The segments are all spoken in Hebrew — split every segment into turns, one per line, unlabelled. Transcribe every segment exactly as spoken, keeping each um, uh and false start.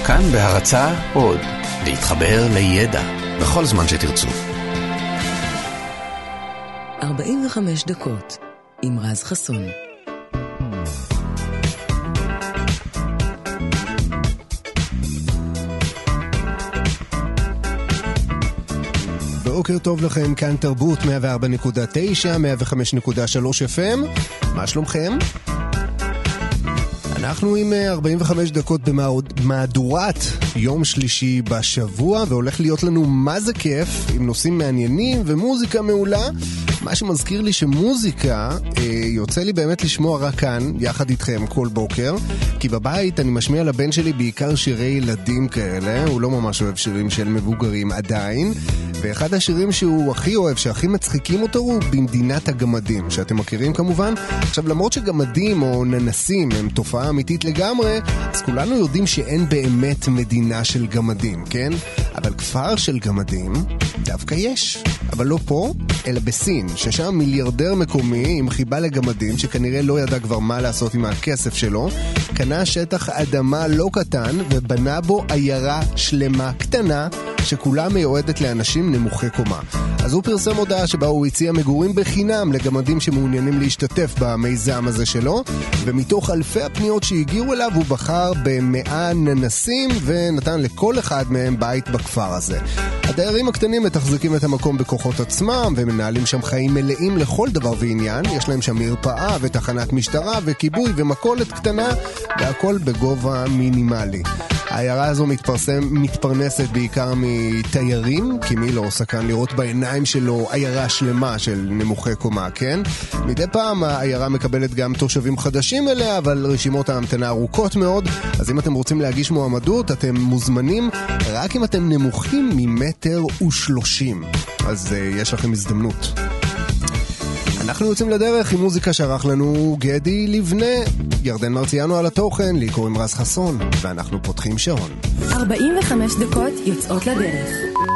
כאן בהרצאה עוד, להתחבר לידע, בכל זמן שתרצו.
ארבעים וחמש דקות, עם רז חסון.
בוקר טוב לכם, כאן תרבות מאה וארבע נקודה תשע, מאה וחמש נקודה שלוש אף אם. מה שלומכם? אנחנו עם ארבעים וחמש דקות במהדורת יום שלישי בשבוע, והולך להיות לנו מה זה כיף, עם נושאים מעניינים ומוזיקה מעולה. מה שמזכיר לי שמוזיקה אה, יוצא לי באמת לשמוע רק כאן, יחד איתכם כל בוקר, כי בבית אני משמיע לבן שלי בעיקר שירי ילדים כאלה, הוא לא ממש אוהב שירים של מבוגרים עדיין, ואחד השירים שהוא הכי אוהב, שהכי מצחיקים אותו, הוא במדינת הגמדים, שאתם מכירים כמובן. עכשיו, למרות שגמדים או ננסים הם תופעה אמיתית לגמרי, אז כולנו יודעים שאין באמת מדינה של גמדים, כן? אבל כפר של גמדים דווקא יש, אבל לא פה, אלא בסין, ששם מיליארדר מקומי עם חיבה לגמדים, שכנראה לא ידע כבר מה לעשות עם הכסף שלו, קנה שטח אדמה לא קטן ובנה בו עיירה שלמה קטנה, שכולה מיועדת לאנשים נמוכי קומה. אז הוא פרסם הודעה שבה הוא הציע מגורים בחינם לגמדים שמעוניינים להשתתף במיזם הזה שלו, ומתוך אלפי הפניות שהגיעו אליו הוא בחר במאה ננסים ונתן לכל אחד מהם בית בכפר הזה. הדיירים הקטנים מתחזקים את המקום בכוחות עצמם ומנהלים שם חיים מלאים לכל דבר ועניין. יש להם שם מרפאה ותחנת משטרה וכיבוי ומכולת קטנה, והכל בגובה מינימלי. העיירה הזו מתפרסם, מתפרנסת בעיקר מתיירים, כי מי לא עושה כאן לראות בעיניים שלו עיירה שלמה של נמוכי קומה, כן? מדי פעם העיירה מקבלת גם תושבים חדשים אליה, אבל רשימות ההמתנה ארוכות מאוד, אז אם אתם רוצים להגיש מועמדות, אתם מוזמנים רק אם אתם נמוכים ממטר ושלושים. אז uh, יש לכם הזדמנות. אנחנו יוצאים לדרך עם מוזיקה שערך לנו גדי לבנה, ירדן מרציאנו על התוכן, לי קוראים רז חסון, ואנחנו פותחים שעון.
ארבעים וחמש דקות יוצאות לדרך.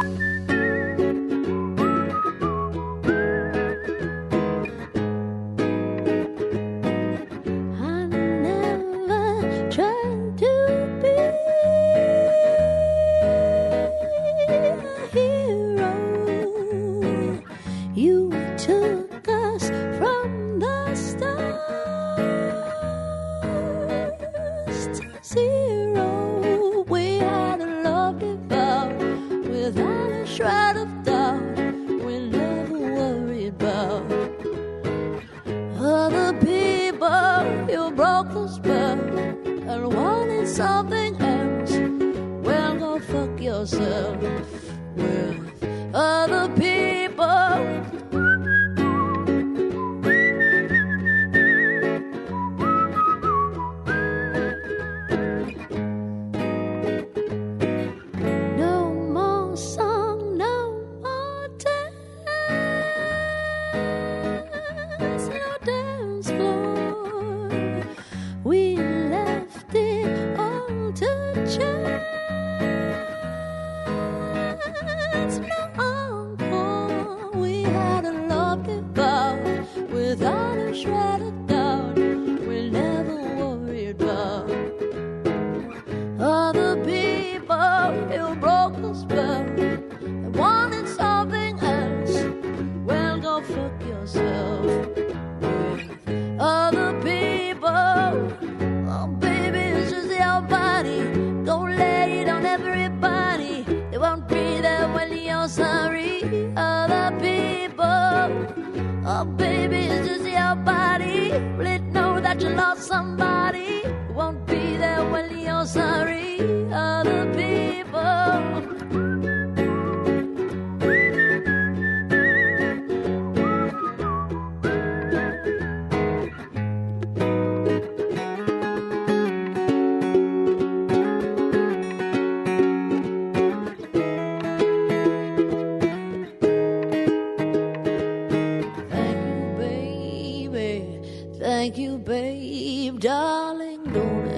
Thank you, babe, darling, don't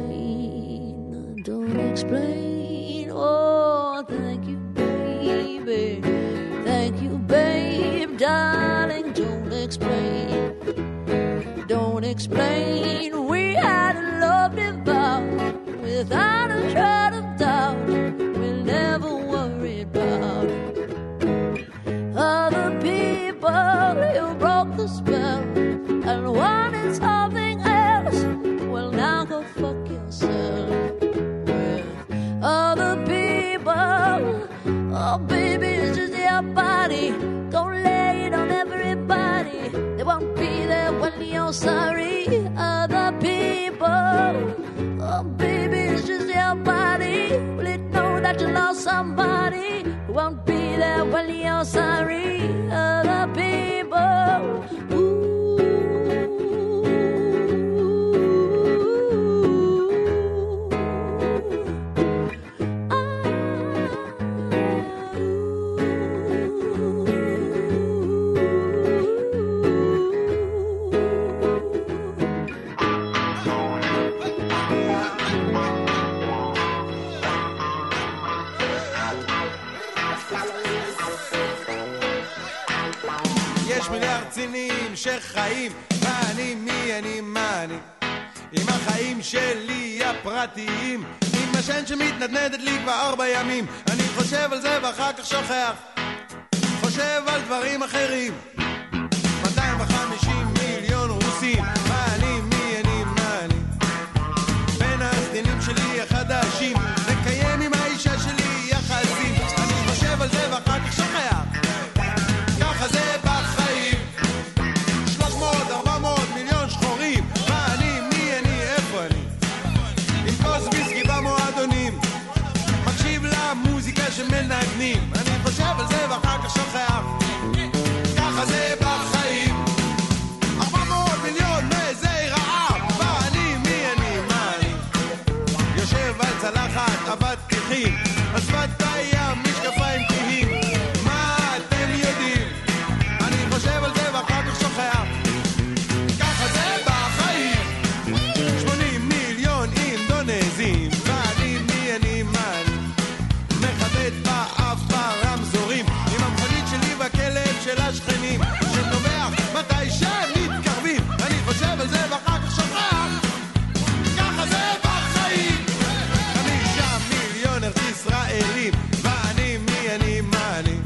explain, don't explain, oh, thank you, baby, thank you, babe, darling, don't explain, don't explain, we had a lovely vow, without a shred of Oh baby, it's just your body. Don't lay it on everybody. They won't be there when you're sorry. Other people. Oh baby, it's just your body. Will it know that you lost somebody? Who won't be there when you're sorry. Other people. Ooh.
שחיים, מה אני, מי אני, מה אני עם החיים שלי הפרטיים, עם השן שמתנדנדת לי כבר ארבע ימים. אני חושב על זה ואחר כך שוכח, חושב על דברים אחרים. מאתיים וחמישים מיליון רוסים, מה אני, מי אני, מה אני בין הסדינים שלי החדשים, לקיים עם האישה שלי יחסים. אני חושב על זה ואחר כך שוכח, ככה זה בחיים. שלוש מאות ארבע מאות מיליון שחורים, מה אני, מי אני, איפה אני עם כוס ויסקי במועדונים, מקשיב למוזיקה שמנגנים. אני חושב על זה ואחר כך שוכח, ככה זה בחיים. ארבע מאות מיליון מזי רעב, מה אני, מי אני, מה אני יושב על צלחת אבטיחים, על שפת הים משקפיים כהים. מה אתם יודעים? אני חושב על זה ואחר כך שוכח, ככה זה בחיים. שמונים מיליון אינדונזים, ואני, מי אני, מה אני מחטט באף ברמזורים, עם המכונית שלי והכלב של השכנים שנובח מתי שמתקרבים. אני חושב על זה ואחר כך שוכח, ככה זה בחיים. חמישה מיליון ארץ ישראלים, ואני, מי אני, מה אני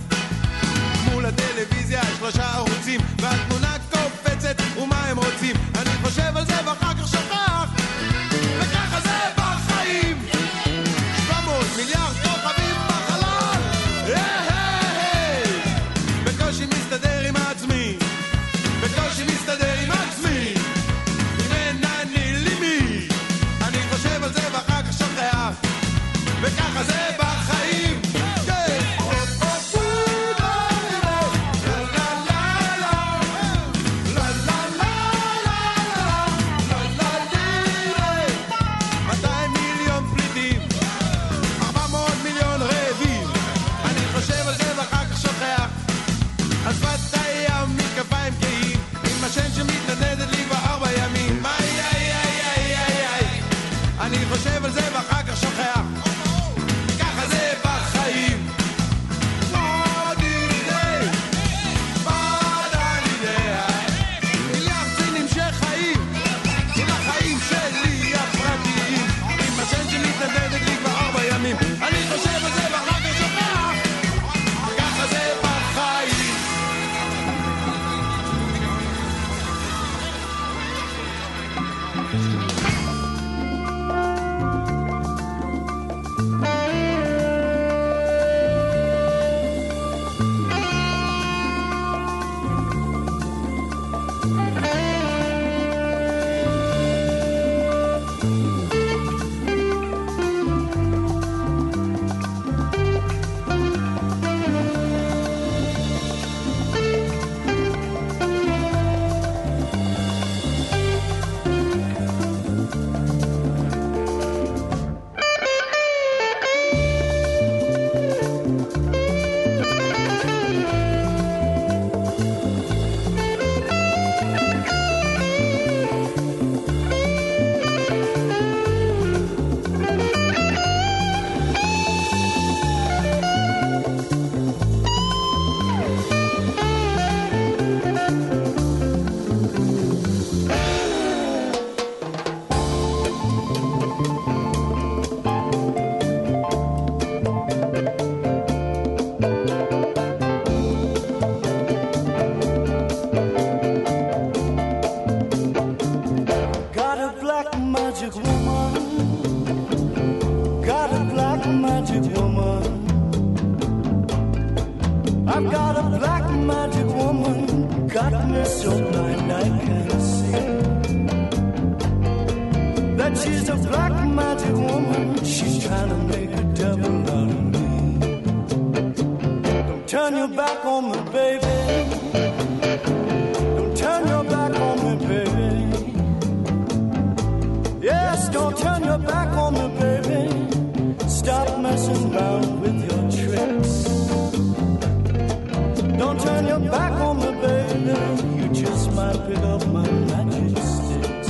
מול הטלוויזיה שלושה ערוצים, והתמונה קופצת ומה הם רוצים. אני חושב על זה ואחר כך שוכח, וככה זה בחיים. שבע מאות מיליארד כוכבים בחלל, היי היי היי, בקושי מסתדר עם עצמי, בקושי מסתדר עם עצמי, אם אני לי מי. אני חושב על זה ואחר כך שוכח, וככה זה בחיים. מאתיים מיליון פליטים, ארבע מאות מיליון רעבים. אני חושב על זה ואחר כך שוכח, על שפת הים משקפיים כהים, עם השן שמתנדנדת לי כבר ארבע ימים. איי איי איי איי איי איי, אני חושב על זה ואחר כך שוכח, ככה זה בחיים. מיליארד סינים שחיים, עם החיים שלי הפרטיים, עם השן שמתנדנדת לי כבר ארבע ימים. אני חושב על זה ואחר כך שוכח, ככה זה בחיים.
Got a black magic woman, got a black magic woman, black magic woman, she's trying to make a devil out of me. Don't turn your back on me, baby. Don't turn your back on me, baby. Yes, don't turn your back on me, baby. Stop messing around with your tricks. Don't turn your back on me, baby. You just might pick up my magic sticks.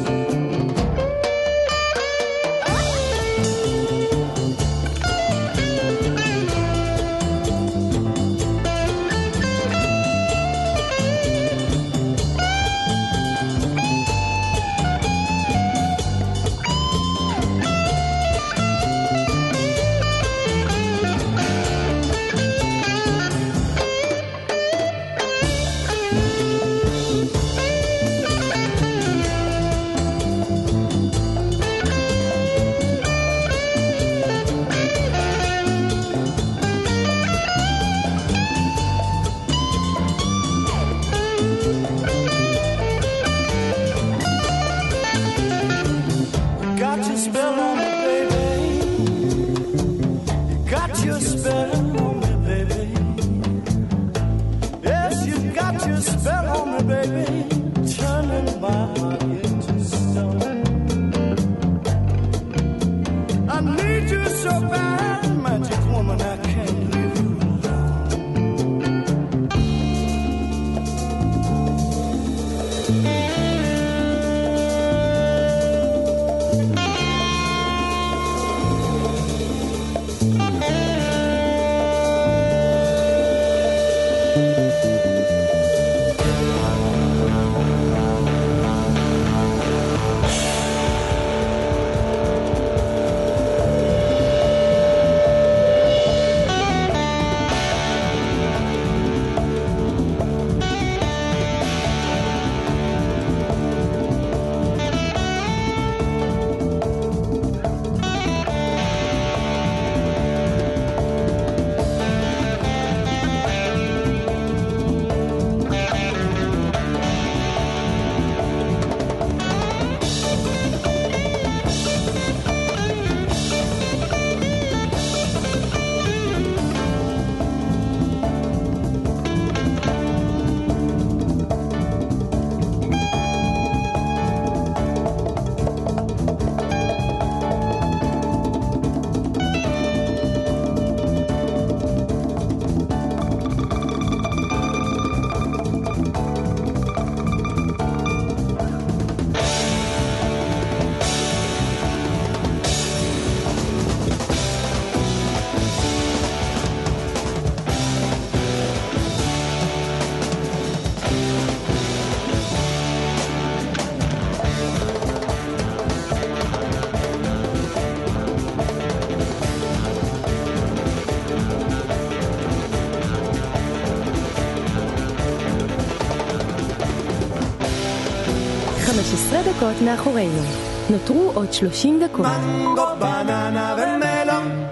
חמש עשרה דקות מאחורינו. נותרו עוד שלושים דקות.
מנגו, בננה ומלון,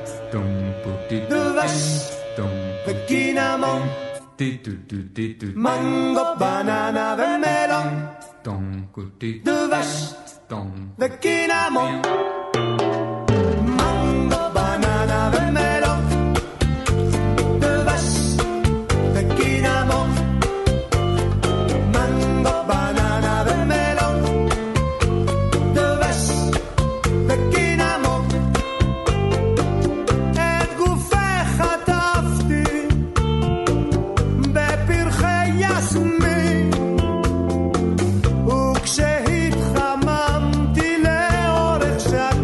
דבש וקינמון. מנגו, בננה ומלון, דבש וקינמון. מנגו, בננה ומלון, דבש וקינמון. מנגו, בננה ומלון, דבש וקינמון. את גופך חטפתי בפרחי יסמין, וכשהתחממתי לאורך שנים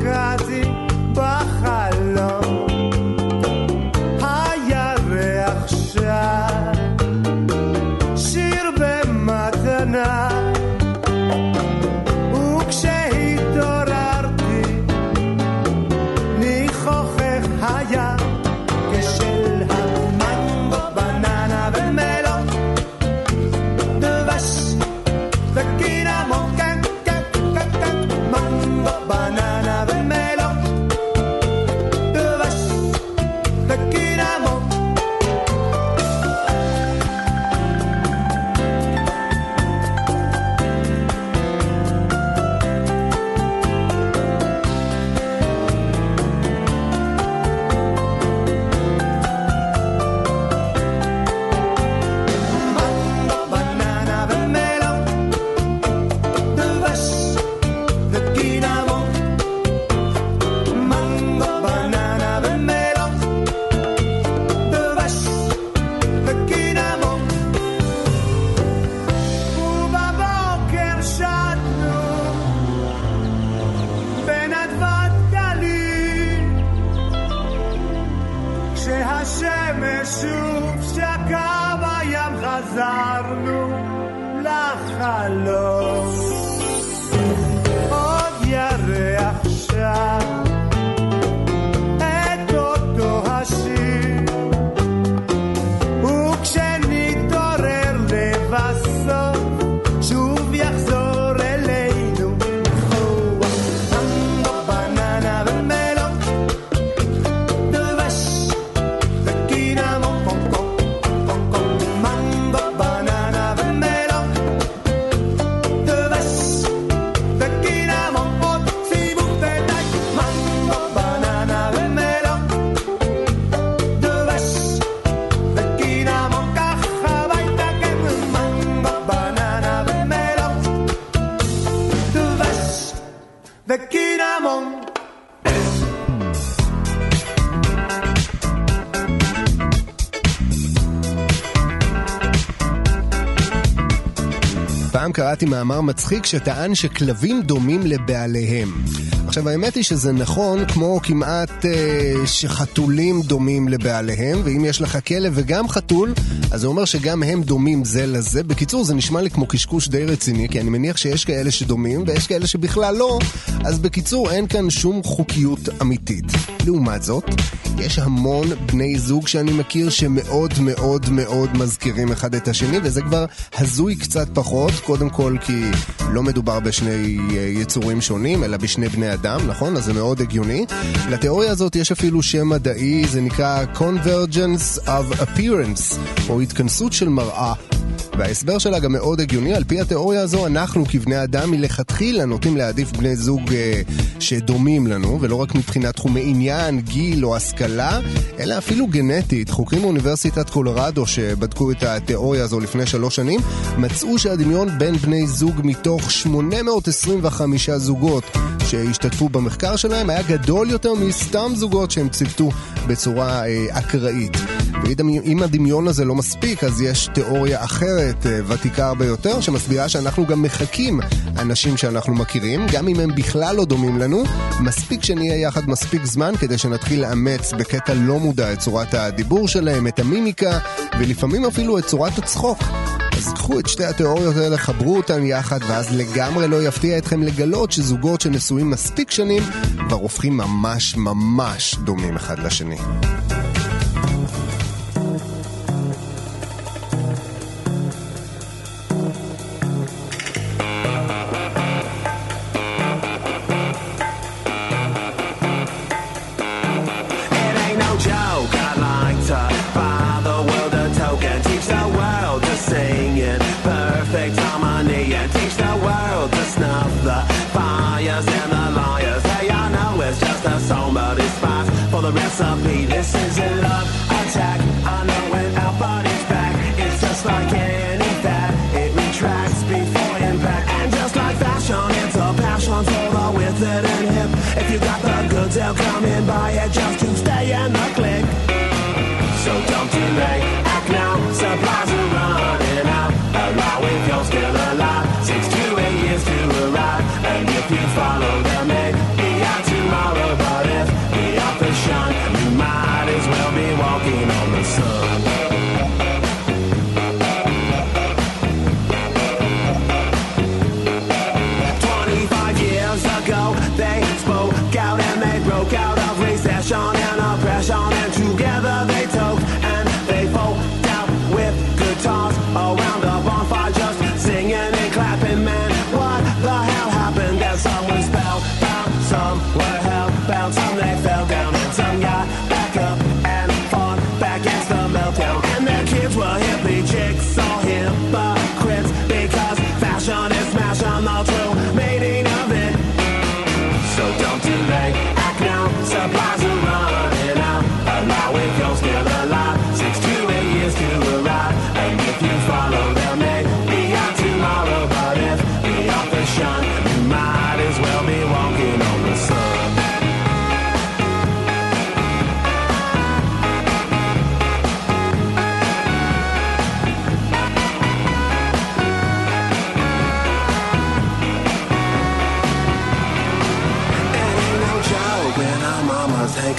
ושוב שקע בים חזרנו לחלום עוד ירח שם את אותו השיר וכשנתעורר לבסוף שוב יחזור אלינו ניחוח מנגו בננה ומלון דבש וקינמון קום קום קום קום מנגו בננה ומלון דבש וקינמון עוד סיבוב ודי מנגו בננה ומלון דבש וקינמון ככה הביתה כן מנגו בננה ומלון דבש וקינמון
פעם קראתי מאמר מצחיק שטען שכלבים דומים לבעליהם. עכשיו האמת היא שזה נכון כמו כמעט אה, שחתולים דומים לבעליהם, ואם יש לך כלב וגם חתול אז זה אומר שגם הם דומים זה לזה. בקיצור זה נשמע לי כמו קשקוש די רציני, כי אני מניח שיש כאלה שדומים ויש כאלה שבכלל לא. אז בקיצור אין כאן שום חוקיות אמיתית. לעומת זאת יש המון בני זוג שאני מכיר שמאוד מאוד מאוד מזכירים אחד את השני, וזה כבר הזוי קצת פחות, קודם כל כי לא מדובר בשני יצורים שונים אלא בשני בני אדם, נכון? אז זה מאוד הגיוני. לתיאוריה הזאת יש אפילו שם מדעי, זה נקרא Convergence of Appearance, או התכנסות של מראה, וההסבר שלה גם מאוד הגיוני. על פי התיאוריה הזו אנחנו כבני אדם מלכתחילה נוטים להעדיף בני זוג אה, שדומים לנו, ולא רק מבחינת תחומי עניין, גיל או השכלה, אלא אפילו גנטית. חוקרים מאוניברסיטת קולורדו שבדקו את התיאוריה הזו לפני שלוש שנים מצאו שהדמיון בין בני זוג מתוך שמונה מאות עשרים וחמישה זוגות שהשתתפו במחקר שלהם היה גדול יותר מסתם זוגות שהם ציוותו בצורה אה, אקראית. ואם הדמיון הזה לא מספיק אז יש תיאוריה אחרת אה, ותיקה הרבה יותר שמסבירה שאנחנו גם מחכים אנשים שאנחנו מכירים, גם אם הם בכלל לא דומים לנו, מספיק שנהיה יחד מספיק זמן כדי שנתחיל לאמץ בקטע לא מודע את צורת הדיבור שלהם, את המימיקה ולפעמים אפילו את צורת הצחוק. אז קחו את שתי התיאוריות האלה, חברו אותן יחד, ואז לגמרי לא יפתיע אתכם לגלות שזוגות שנשואים מספיק שנים כבר הופכים ממש ממש דומים אחד לשני.
The recipe, this is a love attack. I know when our body's back, it's just like any fat, it retracts before impact. And just like fashion, it's a passion for the with it and hip. If you got the goods, they'll come in, buy it just to stay in the click. So don't delay, act now, supplies are running out. Allow if you're still alive, six to eight years to arrive. And if you follow the may be out tomorrow, but if you might as well be walking on the sun. Twenty-five years ago they spoke out and they broke out of recession and oppression, and together they talked and they folk out with guitars around a bonfire just singing and clapping. Man, what the hell happened? That some were spellbound, some were hellbound, some they fell down, and some got back up and fought back against the meltdown. And their kids were hippie chicks, all hypocrites, because fashion is smashing the true meaning of it. So don't delay, act now, supplies are running out. Allow if you're still alive, six to eight years to arrive. And if you follow them, may be out tomorrow, but if the author shine, you might as well be walking on the sun.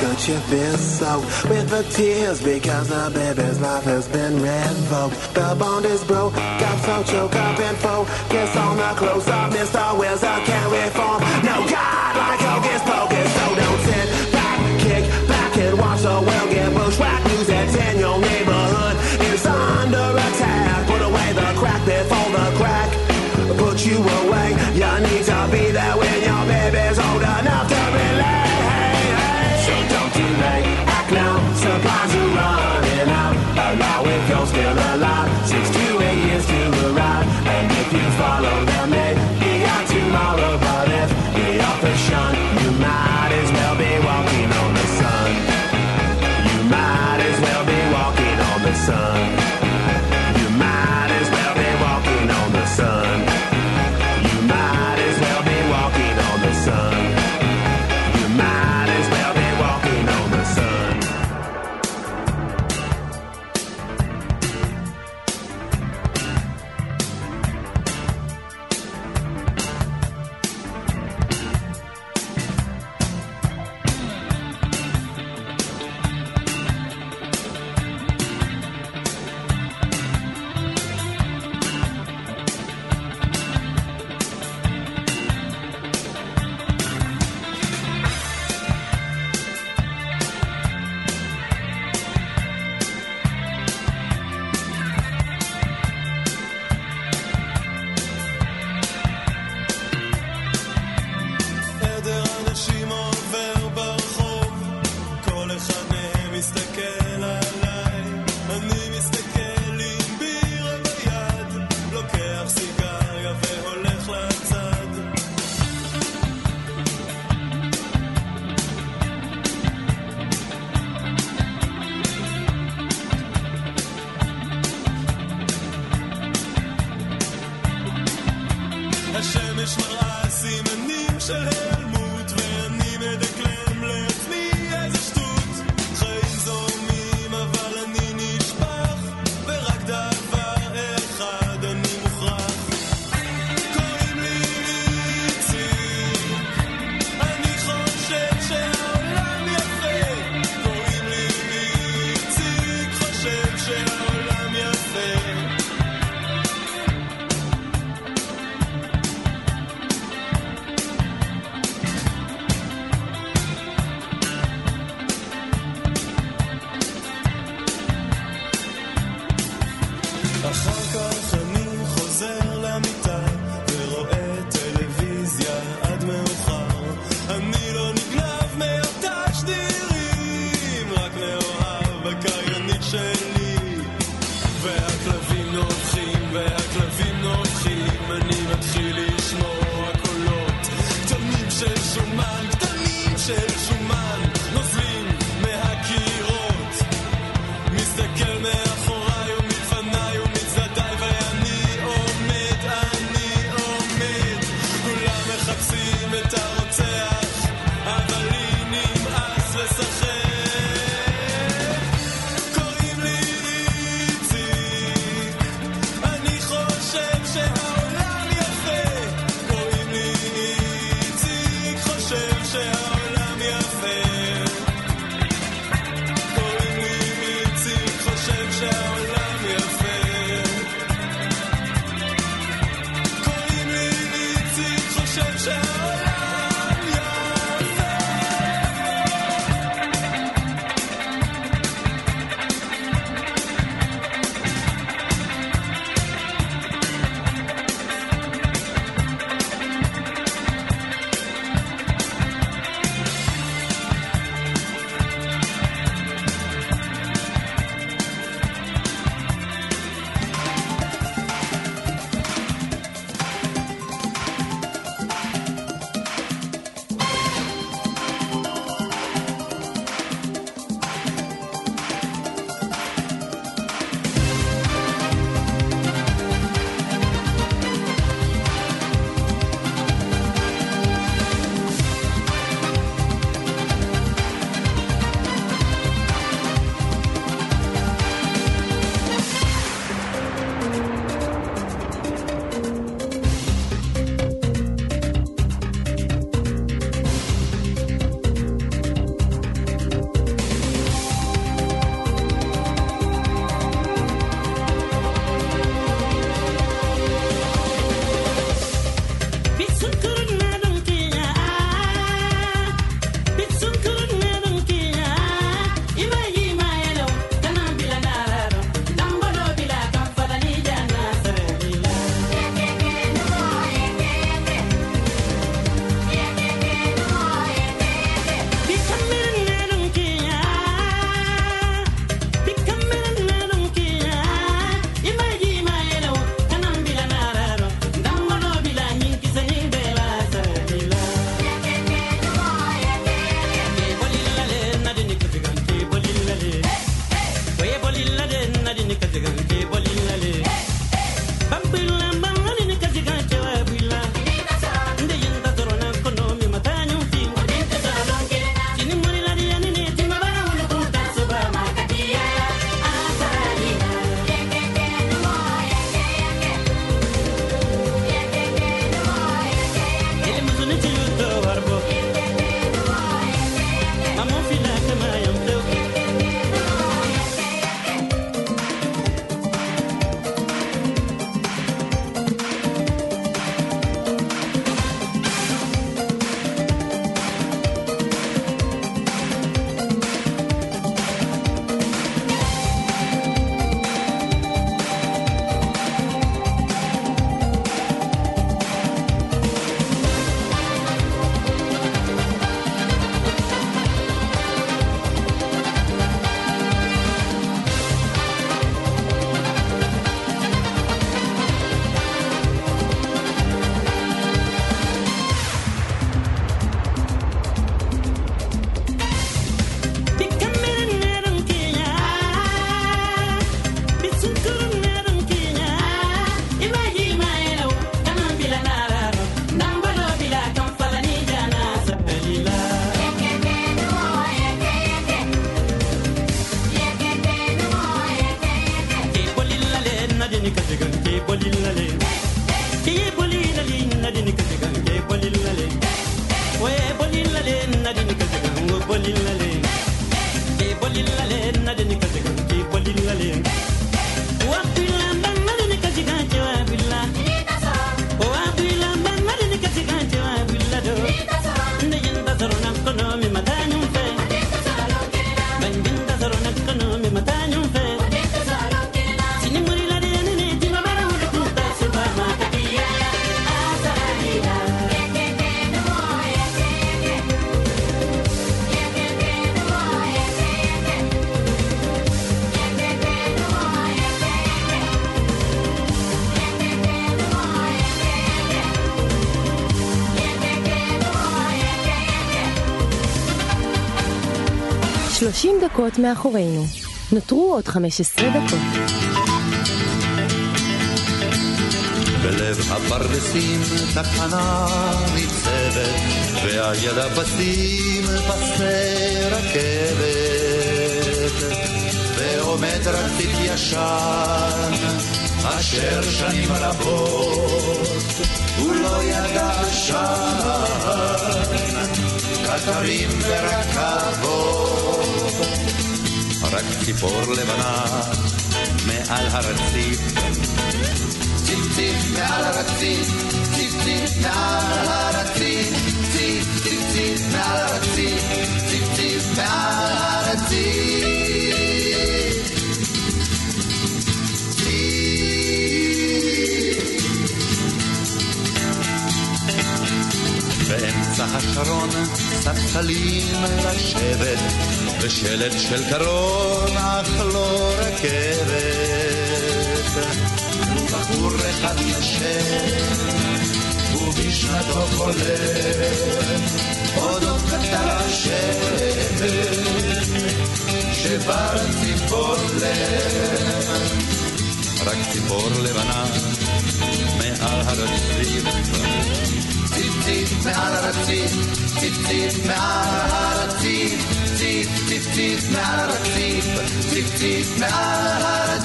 handkerchief is soaked with the tears because the baby's life has been revoked. The bond is broke, got so choked up and focus on the close up. Mister Wizard can't reform. No God like Hocus Pocus, so don't sit back, kick back and watch the world get bushwhacked. News that's in your neighborhood is under attack. Put away the crack before the crack put you away. You need to be there when your baby's old enough to relate. Hey, hey. So don't delay, act now. Supplies are running out. Allow if you're still alive. Six to eight years to arrive. And if you follow them, maybe got tomorrow. But if the author's shunned, you might as well be walking on the sun. You might as well be walking on the sun. You might as well be walking on the sun. You might as well be walking on the sun. You might as well be walking on the sun.
שלושים דקות מאחורינו. נותרו עוד חמש עשרה דקות.
בלב הפרדסים תחנה ניצבת, ועל יד הפסים פסי רכבת, ועומד רציף ישן אשר שנים רבות הוא לא ידע שן, קטרים ורכבות, רק ציפור לבנה מעל הרציף, ציף ציף מעל הרציף, ציף ציף מעל הרציף, ציף ציף ציף מעל הרציף, ציף ציף מעל הרציף, באמצע השרון ספסלים לשבת, ושלט של קרון אך לא רכבת, ובחור אחד נשב ובשנתו חולם אודות קטר השבת שבר ציפור לב, רק ציפור לבנה מעל הרציף, ציף ציף מעל הרציף, ציף ציף מעל הרציף, ציף ציף ציף מעל הרציף, ציף ציף מעל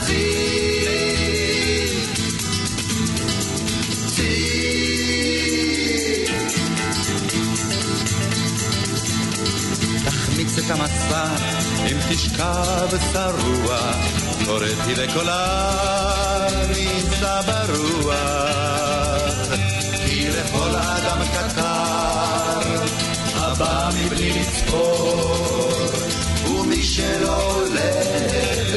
הרציף, ציף. תחמיץ את המסע אם תשכב שרוע, קוראתי בקולה ניסה ברוח, כי לכל אדם קטר הבא מבלי לצפור, ומי שלא הולך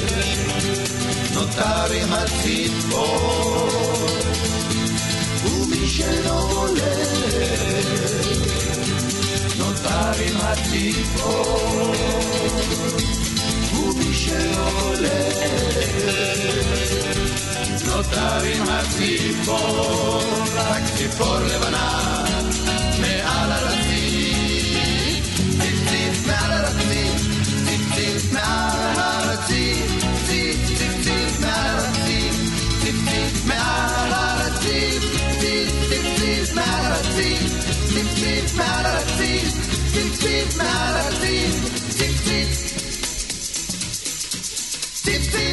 נותר עם הציפור, ומי שלא הולך נותר עם הציפור, ומי שלא הולך נותר עם הציפור, רק ציפור לבנה מעל הרציף, ציף ציף מעל הרציף, ציף ציף מעל הרציף, ציף ציף ציף מעל הרציף, ציף ציף מעל הרציף, ציף ציף ציף מעל הרציף, ציף ציף מעל הרציף, ציף ציף מעל הרציף, ציף ציף ציף ציף.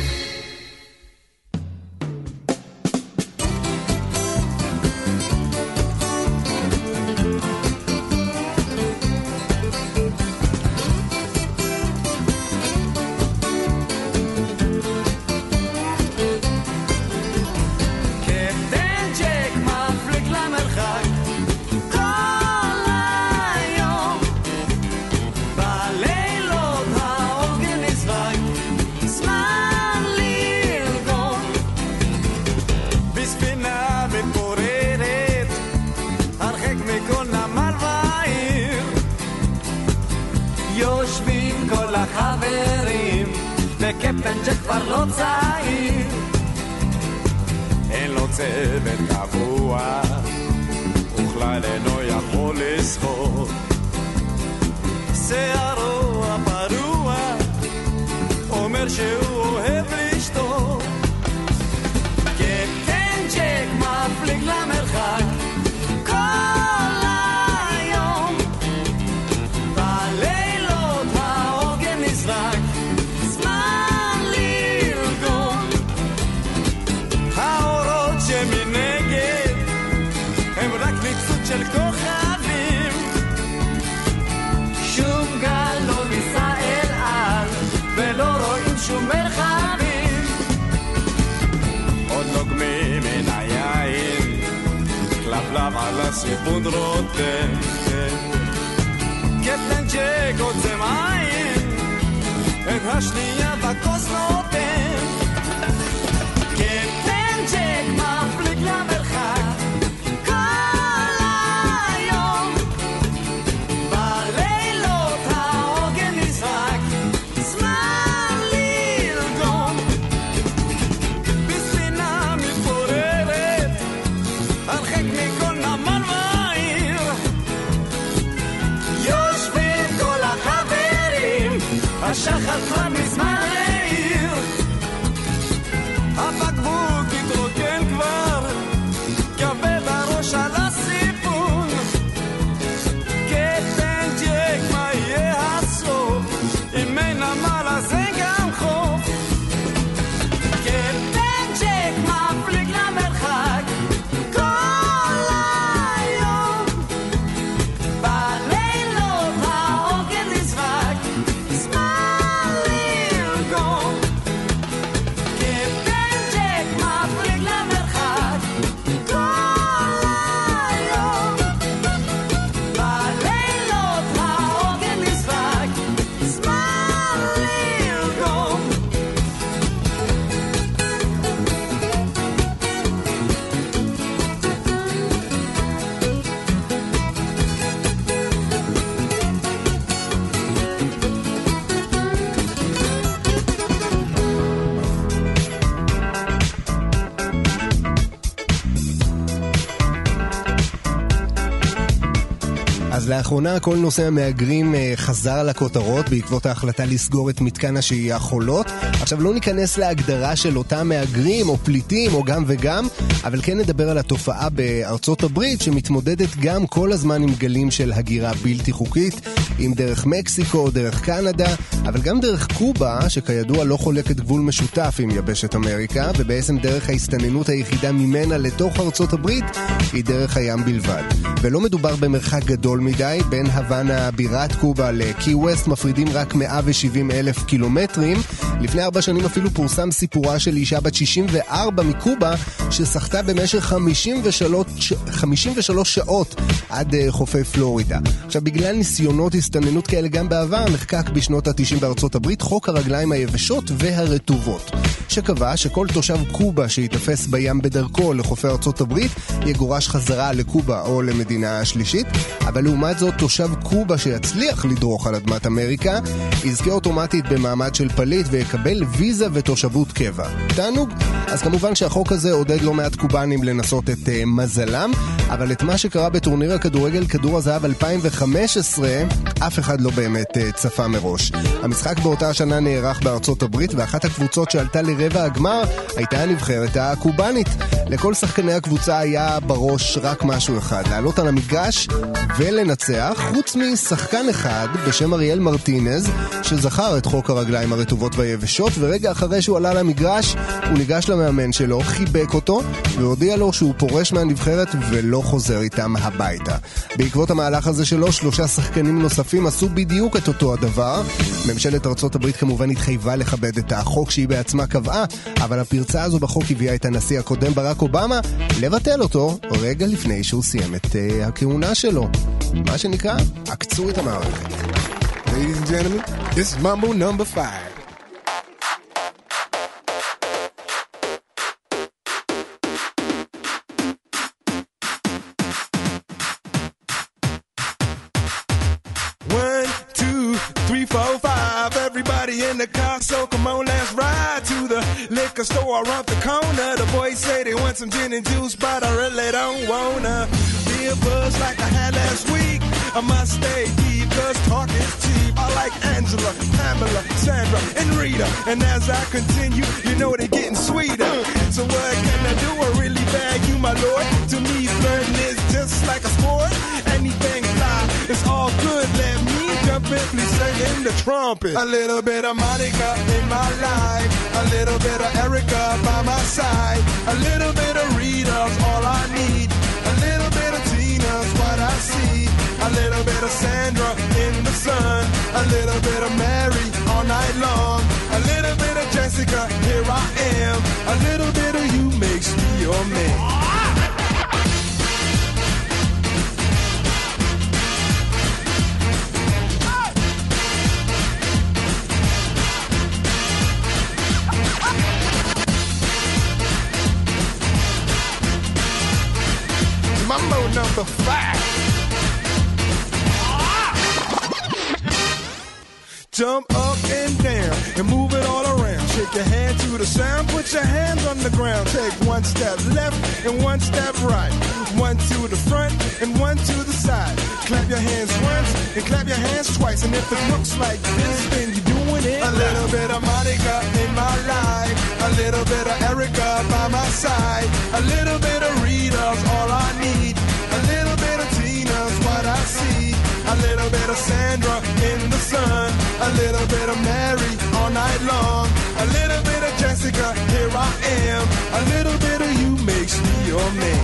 וקפטן שכבר לא צעיר, אין לו צוות קבוע, וכלל אינו יכול לשחות, שערו הפרוע אומר שהוא אוהב לשתות, קפטן ג'ק מפליג למרחק כל היום, בלילות העוגן נזרק, שמנגד הם רק ניצוץ של כוכבים, שום גל לא ניסה אל על ולא רואים שום מרחבים, עוד נוגמים מן היין כלבלב על הסיפון רותם, קפטן ג'ק עוצם עין את השנייה בכוס נותן, קפטן ג'ק מפליג למרחק כל היום, בלילות העוגן נזרק, זמן לרגום, בספינה מתפוררת הרחק מכל נמל ועיר, יושבים כל החברים השחר כבר מזמן העיר, הבקבוק התרוקן כבר, כבד הראש על הסיפון, קפטן ג'ק מה יהיה הסוף, אם אין נמל אז אין גם חוף, קפטן ג'ק מפליג למרחק כל היום, בלילות העוגן נזרק, זמן לרגום, קפטן ג'ק מפליג למרחק כל היום, בלילות העוגן נזרק, זמן לרגום.
אז לאחרונה כל נושא המהגרים אה, חזר לכותרות בעקבות ההחלטה לסגור את מתקן השהייה חולות. עכשיו לא ניכנס להגדרה של אותם מהגרים או פליטים או גם וגם, אבל כן נדבר על התופעה בארצות הברית שמתמודדת גם כל הזמן עם גלים של הגירה בלתי חוקית, אם דרך מקסיקו, דרך קנדה, אבל גם דרך קובה, שכידוע לא חולקת גבול משותף עם יבשת אמריקה, ובעצם דרך ההסתננות היחידה ממנה לתוך ארצות הברית היא דרך הים בלבד. ולא מדובר במרחק גדול מדי, בין הוואנה בירת קובה לקי ווסט מפרידים רק מאה ושבעים אלף קילומטרים. לפני ארבע שנים אפילו פורסם סיפורה של אישה בת שישים וארבע מקובה ששחתה במשך חמישים ושלוש, חמישים ושלוש שעות עד חופי פלורידה. עכשיו בגלל ניסיונות הסתננות כאלה גם בעבר נחקק בשנות ה-תשעים בארצות הברית חוק הרגליים היבשות והרטובות, שקבע שכל תושב קובה שיתפס בים בדרכו לחופי ארצות הברית יגורש חזרה לקובה או למדינה השלישית, אבל לעומת זאת תושב קובה שיצליח לדרוך על אדמת אמריקה יזכה אוטומטית במעמד של פליט ויקבל ויזה ותושבות קבע. תענוג. אז כמובן שהחוק הזה עודד לא מעט קובנים לנסות את uh, מזלם, אבל את מה שקרה בטורניר הכדורגל כדור הזהב אלפיים וחמש עשרה אף אחד לא באמת uh, צפה מראש. המשחק באותה השנה נערך בארצות הברית, ואחת הקבוצות שעלתה לרבע הגמר הייתה הנבחרת הקובנית. לכל שחקני הקבוצה היה בראש רק משהו אחד, לעלות על המגרש ולנצח, חוץ משחקן אחד בשם אריאל מרטינז שזכר את חוק הרגליים הרטובות והיבשות, ורגע אחרי שהוא עלה למגרש הוא ניגש למאמן שלו, חיבק אותו והודיע לו שהוא פורש מהנבחרת ולא חוזר איתם הביתה. בעקבות המהלך הזה שלו שלושה שחקנים נוספים עשו בדיוק את אותו הדבר. ממשלת ארצות הברית כמובן התחייבה לכבד את החוק שהיא בעצמה קבעה, אבל הפרצה הזו בחוק הביאה את הנשיא הקודם ברק אובמה לבטל אותו רגע לפני שהוא סיים את uh, הכהונה שלו. מה שנקרא, עקצו את המערכת.
Ladies and gentlemen, this is Mambo number five. One, two, three, four, five. Everybody in the car, so come on, let's ride to the liquor store around the corner. The boys say they want some gin and juice, but I really don't wanna be a buzz like I had last week. I must stay deep, cause talk is cheap. I like Angela, Pamela, Sandra, and Rita. And as I continue, you know they're getting sweeter. So what can I do? I really bag you, my lord. To me, flirting is just like a sport. Anything fly, it's all good. Let me jump in, please sing in the trumpet. A little bit of Monica in my life, a little bit of Erica by my side, a little bit of Rita's all I need, a little bit of Tina's what I see, a little bit of Sandra in the sun, a little bit of Mary all night long, a little bit of Jessica, here I am, a little bit of you makes me your man. Mambo number five. Jump up and down and move it all around. Shake your hand to the sound, put your hands on the ground. Take one step left and one step right. One to the front and one to the side. Clap your hands once and clap your hands twice. And if it looks like this, then you're doing little bit of Mary all night long. A little bit of Jessica, here I am. A little bit of you makes me your man.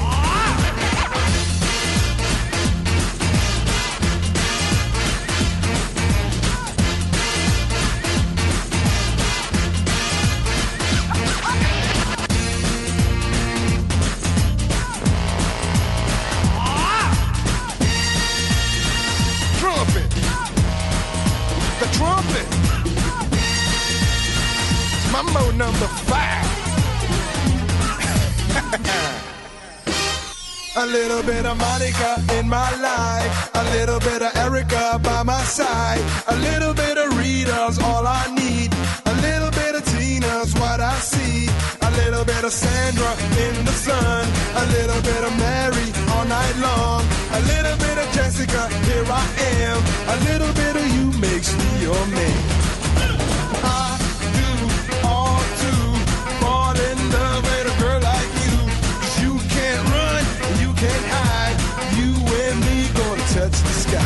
Trumpet. The trumpet. Mambo number five. A little bit of Monica in my life. A little bit of Erica by my side. A little bit of Rita's all I need. A little bit of Tina's what I see. A little bit of Sandra in the sun. A little bit of Mary all night long. A little bit of Jessica, here I am. A little bit of you makes me your man. I do all to fall in love with a girl like you. 'Cause you can't run, you can't hide. You and me gonna touch the sky.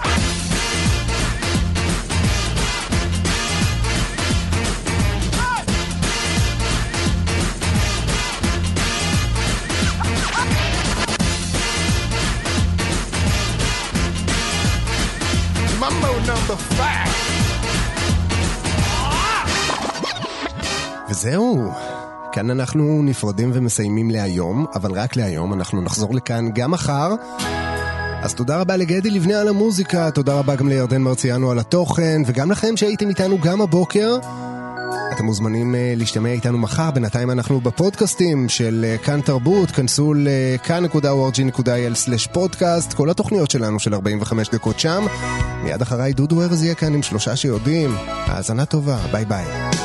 Mambo number five.
וזהו, כאן אנחנו נפרדים ומסיימים להיום, אבל רק להיום, אנחנו נחזור לכאן גם מחר. אז תודה רבה לגדי לבני על המוזיקה, תודה רבה גם לירדן מרציאנו על התוכן, וגם לכם שהייתם איתנו גם הבוקר. אתם מוזמנים להשתמע איתנו מחר, בינתיים אנחנו בפודקאסטים של כאן תרבות, כנסו לכאן נקודה או אר ג'י נקודה איי אל סלש פודקאסט, כל התוכניות שלנו של ארבעים וחמש דקות שם. מיד אחריי דודו ארז יהיה כאן עם שלושה שיודעים. האזנה טובה, ביי ביי.